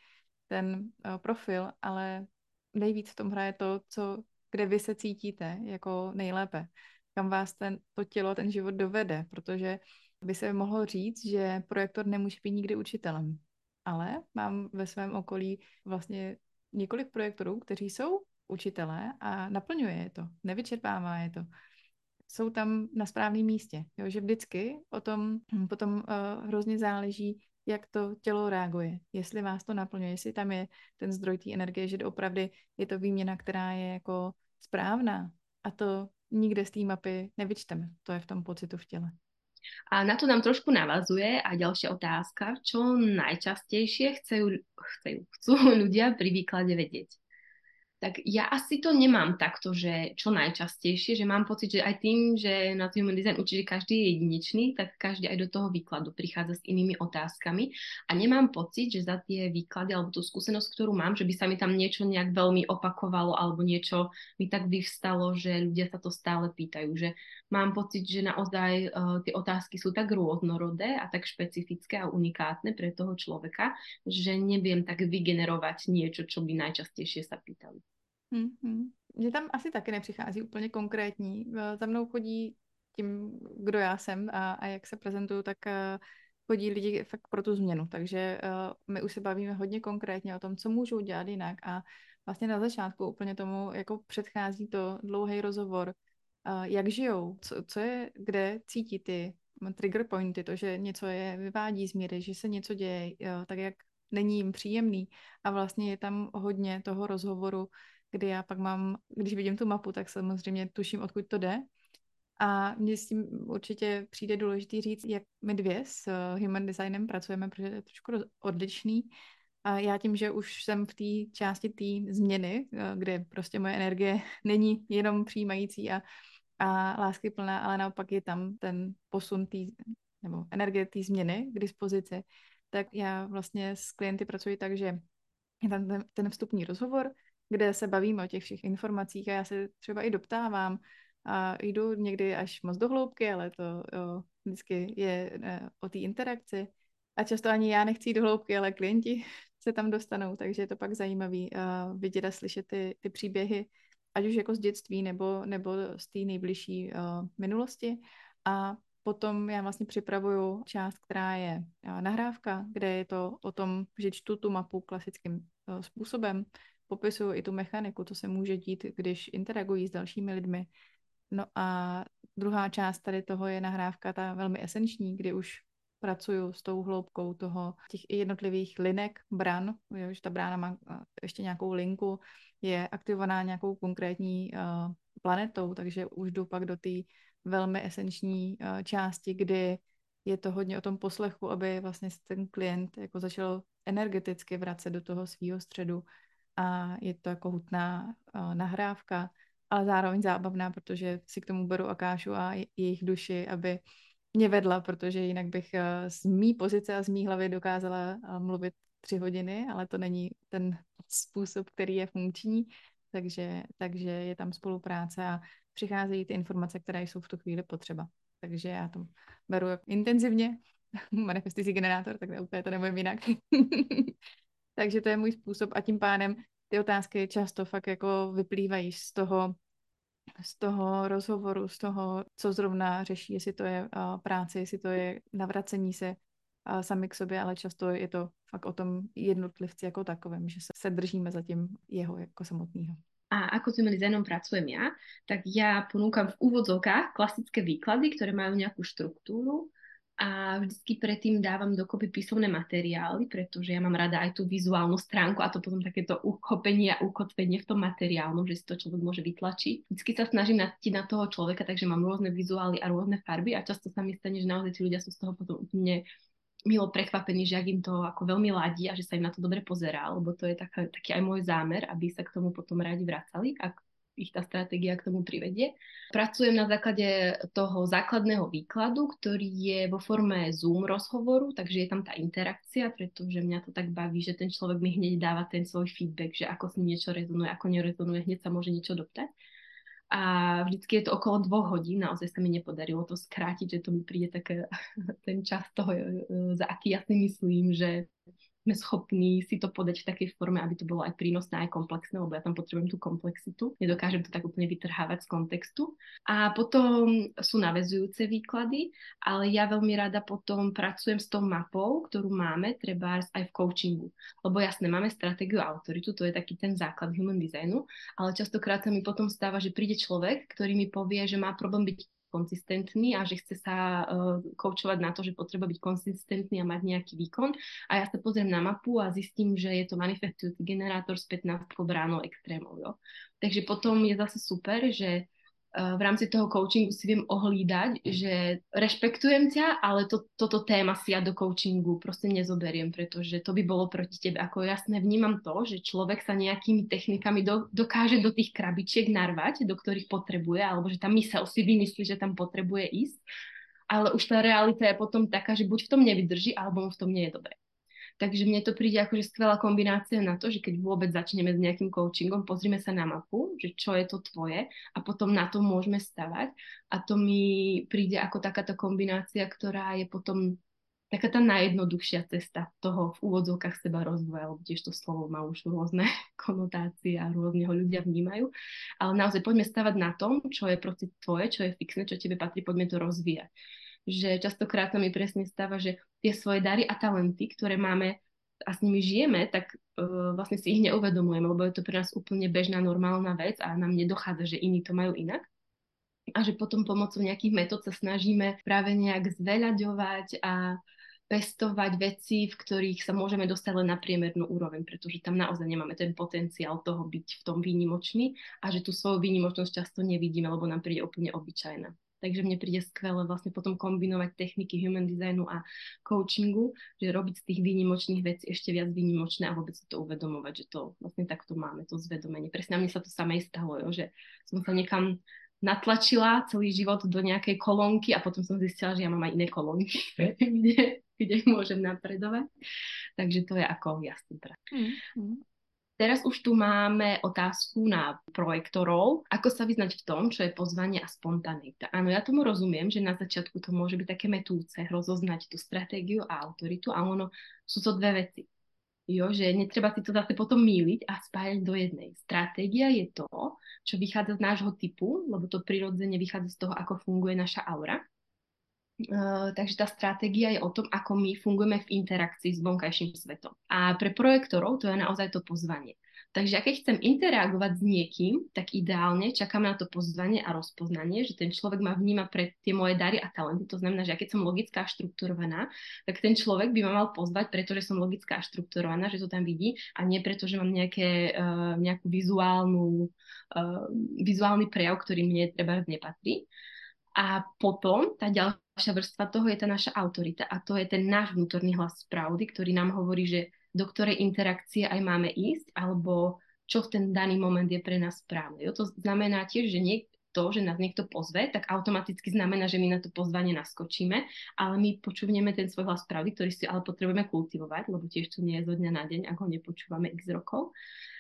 ten uh, profil, ale nejvíc v tom hraje to, co, kde vy se cítíte jako nejlépe, kam vás ten, to tělo, ten život dovede, protože by se mohlo říct, že projektor nemůže být nikdy učitelem. Ale mám ve svém okolí vlastně několik projektorů, kteří jsou učitelé a naplňuje je to, nevyčerpává je to. Jsou tam na správném místě, jo, že vždycky o tom potom uh, hrozně záleží, jak to tělo reaguje, jestli vás to naplňuje, jestli tam je ten zdroj té energie, že opravdu je to výměna, která je jako správná a to nikde z té mapy nevyčteme, to je v tom pocitu v těle. A na to nám trošku navazuje a ďalšia otázka, čo najčastejšie chcú, chcú, chcú ľudia pri výklade vedieť. Tak ja asi to nemám takto, že čo najčastejšie, že mám pocit, že aj tým, že na Human Design učí, že každý je jedinečný, tak každý aj do toho výkladu prichádza s inými otázkami a nemám pocit, že za tie výklady alebo tú skúsenosť, ktorú mám, že by sa mi tam niečo nejak veľmi opakovalo alebo niečo mi tak vyvstalo, že ľudia sa to stále pýtajú, že mám pocit, že naozaj uh, tie otázky sú tak rôznorodé a tak špecifické a unikátne pre toho človeka, že neviem tak vygenerovať niečo, čo by najčastejšie sa pýtali. Hmm. Mně tam asi taky nepřichází úplně konkrétní. Za mnou chodí tím, kdo já jsem a, a jak se prezentuju, tak uh, chodí lidi fakt pro tu změnu. Takže uh, my už se bavíme hodně konkrétně o tom, co můžou dělat jinak a vlastně na začátku úplně tomu jako předchází to dlouhý rozhovor, uh, jak žijou, co, co je, kde cítí ty trigger pointy, to, že něco je vyvádí z míry, že se něco děje uh, tak, jak není jim příjemný a vlastně je tam hodně toho rozhovoru, kdy já pak mám, když vidím tu mapu, tak samozřejmě tuším, odkud to jde. A mně s tím určitě přijde důležitý říct, jak my dvě s Human Designem pracujeme, protože je trošku odlišný. A já tím, že už jsem v té části té změny, kde prostě moje energie není jenom přijímající a, a láskyplná, ale naopak je tam ten posun tý, nebo energie té změny k dispozici, tak já vlastně s klienty pracuji tak, že je tam ten, ten vstupní rozhovor, kde se bavíme o těch všech informacích a já se třeba i doptávám a jdu někdy až moc do hloubky, ale to jo, vždycky je ne, o té interakci. A často ani já nechci jít do hloubky, ale klienti se tam dostanou, takže je to pak zajímavý uh, vidět a slyšet ty, ty příběhy, ať už jako z dětství nebo, nebo z té nejbližší uh, minulosti. A potom já vlastně připravuju část, která je uh, nahrávka, kde je to o tom, že čtu tu mapu klasickým uh, způsobem, popisuju i tu mechaniku, co se může dít, když interagují s dalšími lidmi. No a druhá část tady toho je nahrávka ta velmi esenční, kdy už pracuju s tou hloubkou toho těch jednotlivých linek, bran, jo, že ta brána má ještě nějakou linku, je aktivovaná nějakou konkrétní uh, planetou, takže už jdu pak do té velmi esenční uh, části, kdy je to hodně o tom poslechu, aby vlastně ten klient jako začal energeticky vracet do toho svýho středu a je to jako hutná uh, nahrávka, ale zároveň zábavná, protože si k tomu beru Akášu a jejich duši, aby mě vedla, protože jinak bych uh, z mý pozice a z mý hlavy dokázala uh, mluvit tři hodiny, ale to není ten způsob, který je funkční, takže, takže je tam spolupráce a přicházejí ty informace, které jsou v tu chvíli potřeba. Takže já to beru intenzivně, manifestující generátor, tak úplně to nebudem jinak. Takže to je můj způsob a tím pádem ty otázky často fakt jako vyplývají z toho, z toho rozhovoru, z toho, co zrovna řeší, jestli to je uh, práce, jestli to je navracení se uh, sami k sobě, ale často je to fakt o tom jednotlivci jako takovém, že se, se držíme za tím jeho jako samotného. A ako s Human Designom pracujem ja, tak ja ponúkam v úvodzovkách klasické výklady, ktoré majú nejakú štruktúru a vždycky predtým dávam dokopy písomné materiály, pretože ja mám rada aj tú vizuálnu stránku a to potom takéto uchopenie a ukotvenie v tom materiálnom, že si to človek môže vytlačiť. Vždycky sa snažím nacítiť na toho človeka, takže mám rôzne vizuály a rôzne farby a často sa mi stane, že naozaj tí ľudia sú z toho potom úplne milo prekvapení, že ak im to ako veľmi ladí a že sa im na to dobre pozerá, lebo to je taká, taký aj môj zámer, aby sa k tomu potom radi vracali, ak ich tá stratégia k tomu privedie. Pracujem na základe toho základného výkladu, ktorý je vo forme Zoom rozhovoru, takže je tam tá interakcia, pretože mňa to tak baví, že ten človek mi hneď dáva ten svoj feedback, že ako s ním niečo rezonuje, ako nerezonuje, hneď sa môže niečo doptať. A vždycky je to okolo dvoch hodín, naozaj sa mi nepodarilo to skrátiť, že to mi príde také ten čas toho, za aký ja si myslím, že sme schopní si to podať v takej forme, aby to bolo aj prínosné, aj komplexné, lebo ja tam potrebujem tú komplexitu. Nedokážem to tak úplne vytrhávať z kontextu. A potom sú naväzujúce výklady, ale ja veľmi rada potom pracujem s tou mapou, ktorú máme, trebárs aj v coachingu. Lebo jasné, máme stratégiu a autoritu, to je taký ten základ human designu, ale častokrát sa mi potom stáva, že príde človek, ktorý mi povie, že má problém byť konzistentný a že chce sa uh, koučovať na to, že potrebuje byť konzistentný a mať nejaký výkon. A ja sa pozriem na mapu a zistím, že je to manifestujúci generátor s pätnásťkou bránou extrémov. Jo. Takže potom je zase super, že uh, v rámci toho coachingu si viem ohlídať, že rešpektujem ťa, ale to, toto téma si ja do coachingu proste nezoberiem, pretože to by bolo proti tebe. Ako jasné, vnímam to, že človek sa nejakými technikami do, dokáže do tých krabičiek narvať, do ktorých potrebuje, alebo že tá myseľ si vymyslí, že tam potrebuje ísť, ale už tá realita je potom taká, že buď v tom nevydrží, alebo mu v tom nie je dobre. Takže mne to príde akože skvelá kombinácia na to, že keď vôbec začneme s nejakým coachingom, pozrime sa na mapu, že čo je to tvoje a potom na to môžeme stavať. A to mi príde ako takáto kombinácia, ktorá je potom taká tá najjednoduchšia cesta toho v úvodzovkách seba rozvoja, lebo tiež to slovo má už rôzne konotácie a rôzne ho ľudia vnímajú. Ale naozaj poďme stavať na tom, čo je proste tvoje, čo je fixné, čo tebe patrí, poďme to rozvíjať. Že častokrát sa mi presne stáva, že tie svoje dary a talenty, ktoré máme a s nimi žijeme, tak uh, vlastne si ich neuvedomujeme, lebo je to pre nás úplne bežná, normálna vec a nám nedochádza, že iní to majú inak. A že potom pomocou nejakých metód sa snažíme práve nejak zveľaďovať a pestovať veci, v ktorých sa môžeme dostať len na priemernú úroveň, pretože tam naozaj nemáme ten potenciál toho byť v tom výnimočný a že tú svoju výnimočnosť často nevidíme, lebo nám príde úplne obyčajná. Takže mne príde skvelé vlastne potom kombinovať techniky human designu a coachingu, že robiť z tých výnimočných vecí ešte viac výnimočné a vôbec si to uvedomovať, že to vlastne takto máme, to zvedomenie. Presne na mne sa to samé stalo, jo, že som sa niekam natlačila celý život do nejakej kolónky a potom som zistila, že ja mám aj iné kolónky, kde, kde môžem napredovať. Takže to je ako jasný prach. Mm-hmm. Teraz už tu máme otázku na projektorov. Ako sa vyznať v tom, čo je pozvanie a spontaneita? Áno, ja tomu rozumiem, že na začiatku to môže byť také metúce, rozoznať tú stratégiu a autoritu, a ono sú to dve veci. Jo, že netreba si to zase potom míliť a spájať do jednej. Stratégia je to, čo vychádza z nášho typu, lebo to prirodzene vychádza z toho, ako funguje naša aura. Uh, takže tá stratégia je o tom, ako my fungujeme v interakcii s vonkajším svetom. A pre projektorov to je naozaj to pozvanie. Takže keď chcem interagovať s niekým, tak ideálne čakám na to pozvanie a rozpoznanie, že ten človek ma vníma pre tie moje dary a talenty. To znamená, že keď som logická a štrukturovaná, tak ten človek by ma mal pozvať, pretože som logická a štrukturovaná, že to tam vidí, a nie preto, že mám nejaké, uh, nejakú vizuálnu, uh, vizuálny prejav, ktorý mne treba nepatrí. A potom tá ďalšia vrstva toho je tá naša autorita a to je ten náš vnútorný hlas pravdy, ktorý nám hovorí, že do ktorej interakcie aj máme ísť alebo čo v ten daný moment je pre nás správne. Jo? To znamená tiež, že niekto, že nás niekto pozve, tak automaticky znamená, že my na to pozvanie naskočíme, ale my počúvneme ten svoj hlas pravdy, ktorý si ale potrebujeme kultivovať, lebo tiež to nie je zo dňa na deň, ak ho nepočúvame x rokov.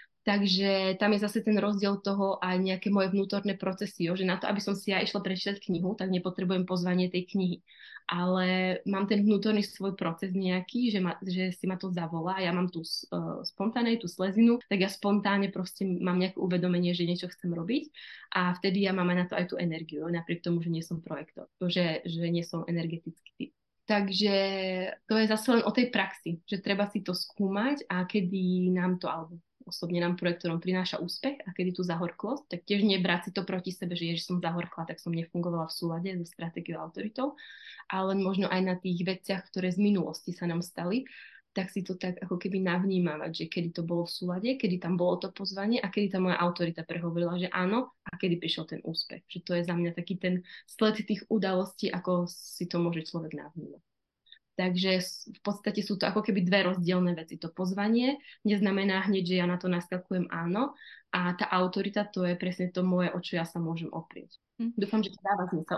Takže tam je zase ten rozdiel toho aj nejaké moje vnútorné procesy, jo? Že na to, aby som si ja išla prečítať knihu, tak nepotrebujem pozvanie tej knihy. Ale mám ten vnútorný svoj proces nejaký, že, ma, že si ma to zavolá, ja mám tú uh, spontánej, tú slezinu, tak ja spontánne proste mám nejaké uvedomenie, že niečo chcem robiť a vtedy ja mám aj na to aj tú energiu, napriek tomu, že nie som projektor, že, že nie som energetický typ. Takže to je zase len o tej praxi, že treba si to skúmať a kedy nám to, alebo osobne nám projektorom prináša úspech a kedy tú zahorklosť, tak tiež nebrať si to proti sebe, že ježiš, som zahorkla, tak som nefungovala v súlade so stratégiou a autoritou, ale možno aj na tých veciach, ktoré z minulosti sa nám stali, tak si to tak ako keby navnímavať, že kedy to bolo v súlade, kedy tam bolo to pozvanie a kedy tá moja autorita prehovorila, že áno, a kedy prišiel ten úspech. Že to je za mňa taký ten sled tých udalostí, ako si to môže človek navnímať. Takže v podstate sú to ako keby dve rozdielne veci. To pozvanie neznamená hneď, že ja na to naskakujem áno, a tá autorita, to je presne to moje, o čo ja sa môžem oprieť. Hm. Dúfam, že to dáva zmysel.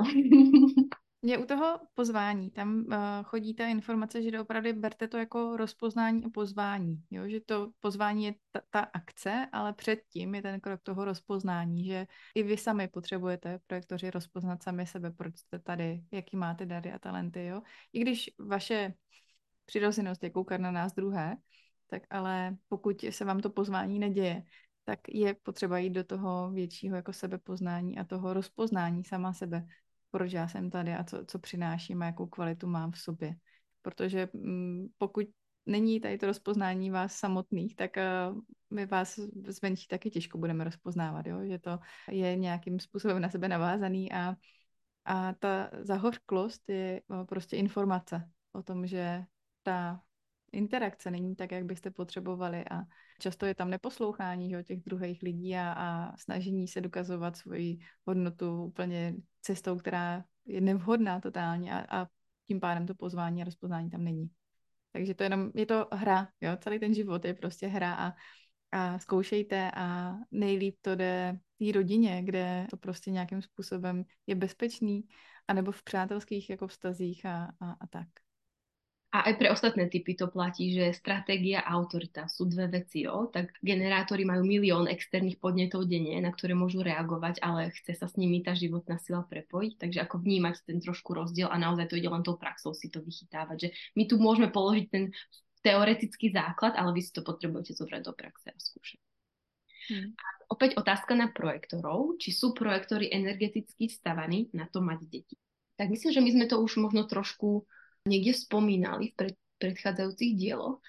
Je u toho pozvání, tam uh, chodí ta informace, že opravdu berte to jako rozpoznání a pozvání, jo? Že to pozvání je ta, ta akce, ale předtím je ten krok toho rozpoznání, že i vy sami potřebujete, projektoři, rozpoznat sami sebe, proč jste tady, jaký máte dary a talenty, jo? I když vaše přirozenost je koukat na nás druhé, tak ale pokud se vám to pozvání neděje, tak je potřeba jít do toho většího jako sebepoznání a toho rozpoznání sama sebe, proč já jsem tady a co, co přináším a jakou kvalitu mám v sobě. Protože mm, pokud není tady to rozpoznání vás samotných, tak uh, my vás zvenčí taky těžko budeme rozpoznávat, jo? Že to je nějakým způsobem na sebe navázaný a, a ta zahořklost je uh, prostě informace o tom, že ta interakce není tak, jak byste potřebovali a často je tam neposlouchání jo, těch druhých lidí a, a snažení se dokazovat svoji hodnotu úplně cestou, která je nevhodná totálně a, a tím pádem to pozvání a rozpoznání tam není. Takže to jenom, je to hra, jo, celý ten život je prostě hra a, a zkoušejte a nejlíp to jde v té rodině, kde to prostě nějakým způsobem je bezpečný, anebo v přátelských jako vztazích a, a, a tak. A aj pre ostatné typy to platí, že stratégia a autorita sú dve veci, jo? Tak generátori majú milión externých podnetov denne, na ktoré môžu reagovať, ale chce sa s nimi tá životná sila prepojiť, takže ako vnímať ten trošku rozdiel a naozaj to ide len tou praxou si to vychytávať, že my tu môžeme položiť ten teoretický základ, ale vy si to potrebujete zobrať do praxe a skúšať. Hmm. A opäť otázka na projektorov, či sú projektory energeticky stavaní na to mať deti. Tak myslím, že my sme to už možno trošku niekde spomínali v pred, predchádzajúcich dieloch,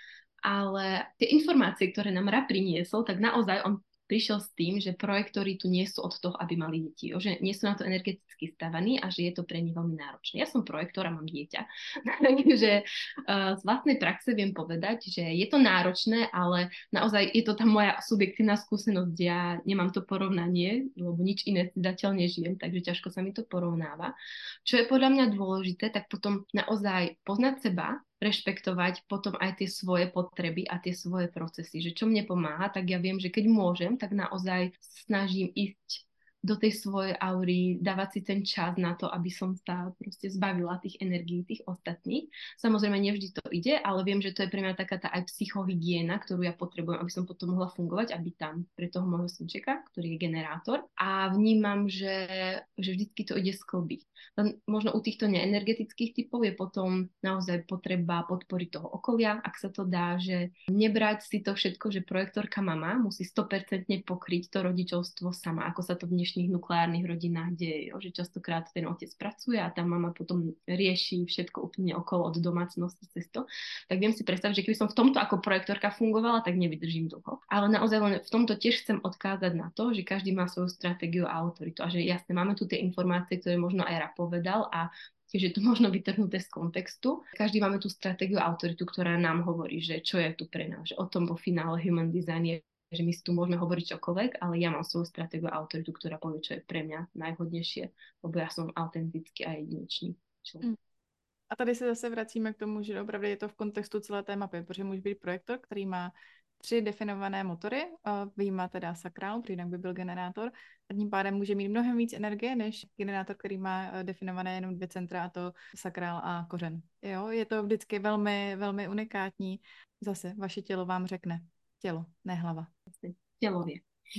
ale tie informácie, ktoré nám Ra priniesol, tak naozaj on prišiel s tým, že projektori tu nie sú od toho, aby mali deti, jo? Že nie sú na to energeticky stavaní a že je to pre nich veľmi náročné. Ja som projektor a mám dieťa, takže uh, z vlastnej praxe viem povedať, že je to náročné, ale naozaj je to tá moja subjektívna skúsenosť, kde ja nemám to porovnanie, lebo nič iné zatiaľ nežijem, takže ťažko sa mi to porovnáva. Čo je podľa mňa dôležité, tak potom naozaj poznať seba, rešpektovať potom aj tie svoje potreby a tie svoje procesy, že čo mne pomáha, tak ja viem, že keď môžem, tak naozaj snažím ísť do tej svojej aury, dávať si ten čas na to, aby som sa proste zbavila tých energií, tých ostatných. Samozrejme, nevždy to ide, ale viem, že to je pre mňa taká tá aj psychohygiena, ktorú ja potrebujem, aby som potom mohla fungovať a byť tam pre toho môjho synčeka, ktorý je generátor. A vnímam, že, že vždycky to ide sklbiť. Len možno u týchto neenergetických typov je potom naozaj potreba podporiť toho okolia, ak sa to dá, že nebrať si to všetko, že projektorka mama musí sto percent pokryť to rodičovstvo sama, ako sa to v dnešných nukleárnych rodinách deje, jo? Že častokrát ten otec pracuje a tá mama potom rieši všetko úplne okolo od domácnosti cez to. Tak viem si predstaviť, že keby som v tomto ako projektorka fungovala, tak nevydržím dlho. Ale naozaj len v tomto tiež chcem odkázať na to, že každý má svoju stratégiu a autoritu a že jasne máme tu tie informácie, ktoré možno aj Ra povedal a tiež je to možno vytrhnuté z kontextu. Každý máme tú stratégiu a autoritu, ktorá nám hovorí, že čo je tu pre nás, že o tom vo finále Human Design je, že my si tu môžeme hovoriť čokoľvek, ale ja mám svoju stratégiu a autoritu, ktorá povie, čo je pre mňa najhodnejšie, lebo ja som autentický a jedinečný člověk. A tady se zase vracíme k tomu, že opravdu je to v kontextu celé té mapy, protože může být projektor, který má tři definované motory, vyjímá teda sakrál, protože jinak by byl generátor, a tím pádem může mít mnohem víc energie, než generátor, který má definované jenom dvě centra, a to sakrál a kořen. Jo, je to vždycky velmi, velmi unikátní. Zase vaše tělo vám řekne. Tělo, ne hlava. Tělově.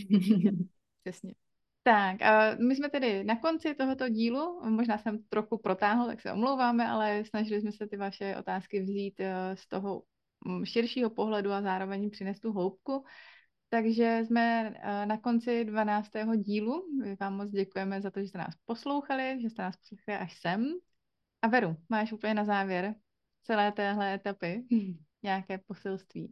Přesně. Tak, a my jsme tedy na konci tohoto dílu, možná jsem trochu protáhl, tak se omlouváme, ale snažili jsme se ty vaše otázky vzít z toho širšího pohledu a zároveň přinést tu hloubku. Takže jsme na konci dvanáctého dílu. My vám moc děkujeme za to, že jste nás poslouchali, že jste nás poslouchali až sem. A Veru, máš úplně na závěr celé téhle etapy nějaké poselství?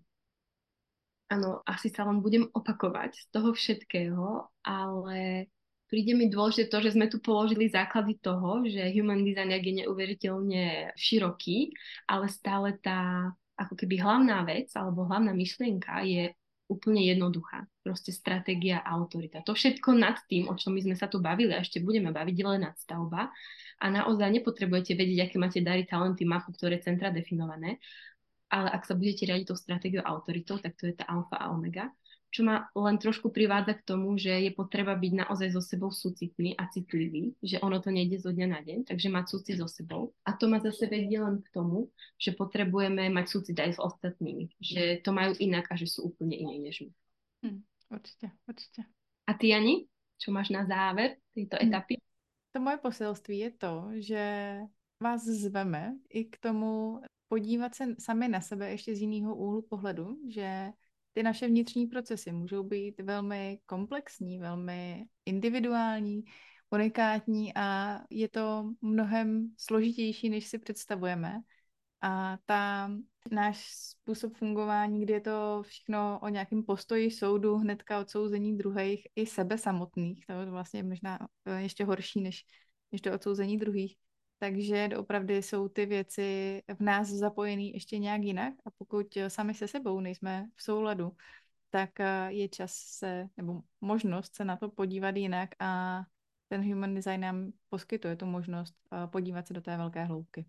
Áno, asi sa len budem opakovať z toho všetkého, ale príde mi dôležité to, že sme tu položili základy toho, že human design je neuveriteľne široký, ale stále tá ako keby hlavná vec alebo hlavná myšlienka je úplne jednoduchá. Proste stratégia a autorita. To všetko nad tým, o čom my sme sa tu bavili a ešte budeme baviť, je len nadstavba. A naozaj nepotrebujete vedieť, aké máte dary, talenty, mapu, ktoré centra definované. Ale ak sa budete riadiť tou stratégiou a autoritou, tak to je tá alfa a omega, čo ma len trošku privádza k tomu, že je potreba byť naozaj so sebou súcitný a citlivý, že ono to nejde zo dňa na deň, takže mať súcit so sebou. A to ma zase vedie len k tomu, že potrebujeme mať súcit aj s ostatnými, že to majú inak a že sú úplne iné než my. Hm, určite, určite. A ty, Jani, čo máš na záver tejto etapy? To moje poselství je to, že vás zveme i k tomu podívat se sami na sebe ještě z jiného úhlu pohledu, že ty naše vnitřní procesy můžou být velmi komplexní, velmi individuální, unikátní a je to mnohem složitější, než si představujeme. A ta náš způsob fungování, kdy je to všechno o nějakém postoji soudu, hnedka odsouzení druhých i sebe samotných, to je vlastně možná ještě horší než, než to odsouzení druhých. Takže opravdu jsou ty věci v nás zapojený ještě nějak jinak a pokud sami se sebou nejsme v souladu, tak je čas se, nebo možnost se na to podívat jinak a ten human design nám poskytuje tu možnost podívat se do té velké hloubky.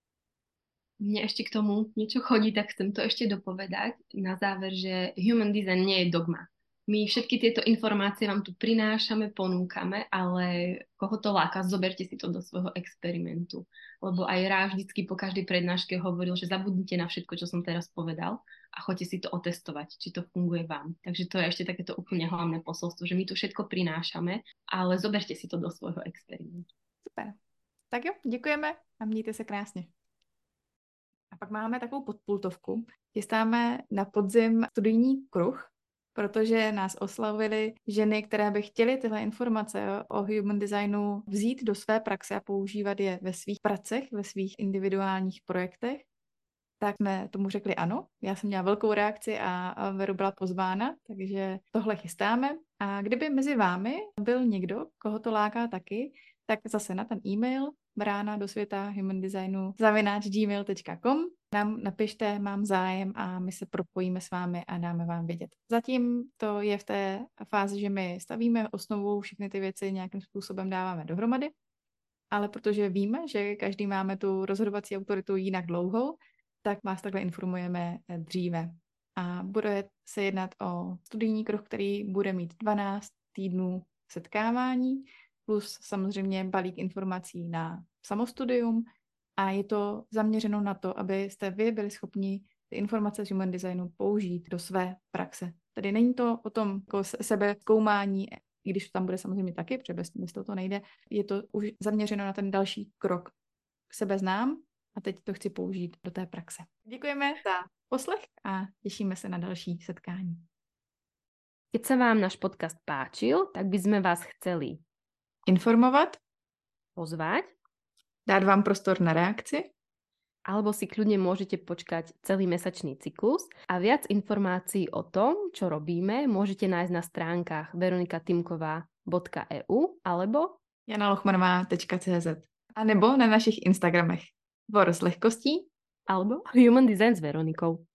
Mne ešte k tomu niečo chodí, tak chcem to ešte dopovedať na záver, že human design nie je dogma. My všetky tieto informácie vám tu prinášame, ponúkame, ale koho to láka, zoberte si to do svojho experimentu. Lebo aj Rá vždycky po každej prednáške hovoril, že zabudnite na všetko, čo som teraz povedal a choďte si to otestovať, či to funguje vám. Takže to je ešte takéto úplne hlavné posolstvo, že my tu všetko prinášame, ale zoberte si to do svojho experimentu. Super. Tak jo, děkujeme a mějte se krásně. A pak máme takovou podpultovku. Chystáme na podzim studijní kruh, protože nás oslavily ženy, které by chtěly tyhle informace o human designu vzít do své praxe a používat je ve svých pracech, ve svých individuálních projektech. Tak jsme tomu řekli ano. Já jsem měla velkou reakci a Veru byla pozvána, takže tohle chystáme. A kdyby mezi vámi byl někdo, koho to láká taky, tak zase na ten e-mail brána do světa human designu zavináč gmail tečka com nám napište, mám zájem a my se propojíme s vámi a dáme vám vědět. Zatím to je v té fázi, že my stavíme osnovu, všechny ty věci nějakým způsobem dáváme dohromady, ale protože víme, že každý máme tu rozhodovací autoritu jinak dlouhou, tak vás takhle informujeme dříve. A bude se jednat o studijní kruh, který bude mít dvanáct týdnů setkávání, plus samozřejmě balík informací na samostudium a je to zaměřeno na to, abyste vy byli schopni ty informace z human designu použít do své praxe. Tedy není to o tom jako sebe zkoumání, i když tam bude samozřejmě taky, protože bez, bez toho to nejde, je to už zaměřeno na ten další krok. Sebe znám a teď to chci použít do té praxe. Děkujeme za poslech a těšíme se na další setkání. Keď sa vám náš podcast páčil, tak by sme vás chceli informovat, pozvať, dát vám prostor na reakci, alebo si kľudne môžete počkať celý mesačný cyklus a viac informácií o tom, čo robíme, môžete nájsť na stránkach veronikatimková bodka e u alebo jana lochmanová tečka cé zet a nebo na našich Instagramech Vor s lehkostí alebo Human Design s Veronikou.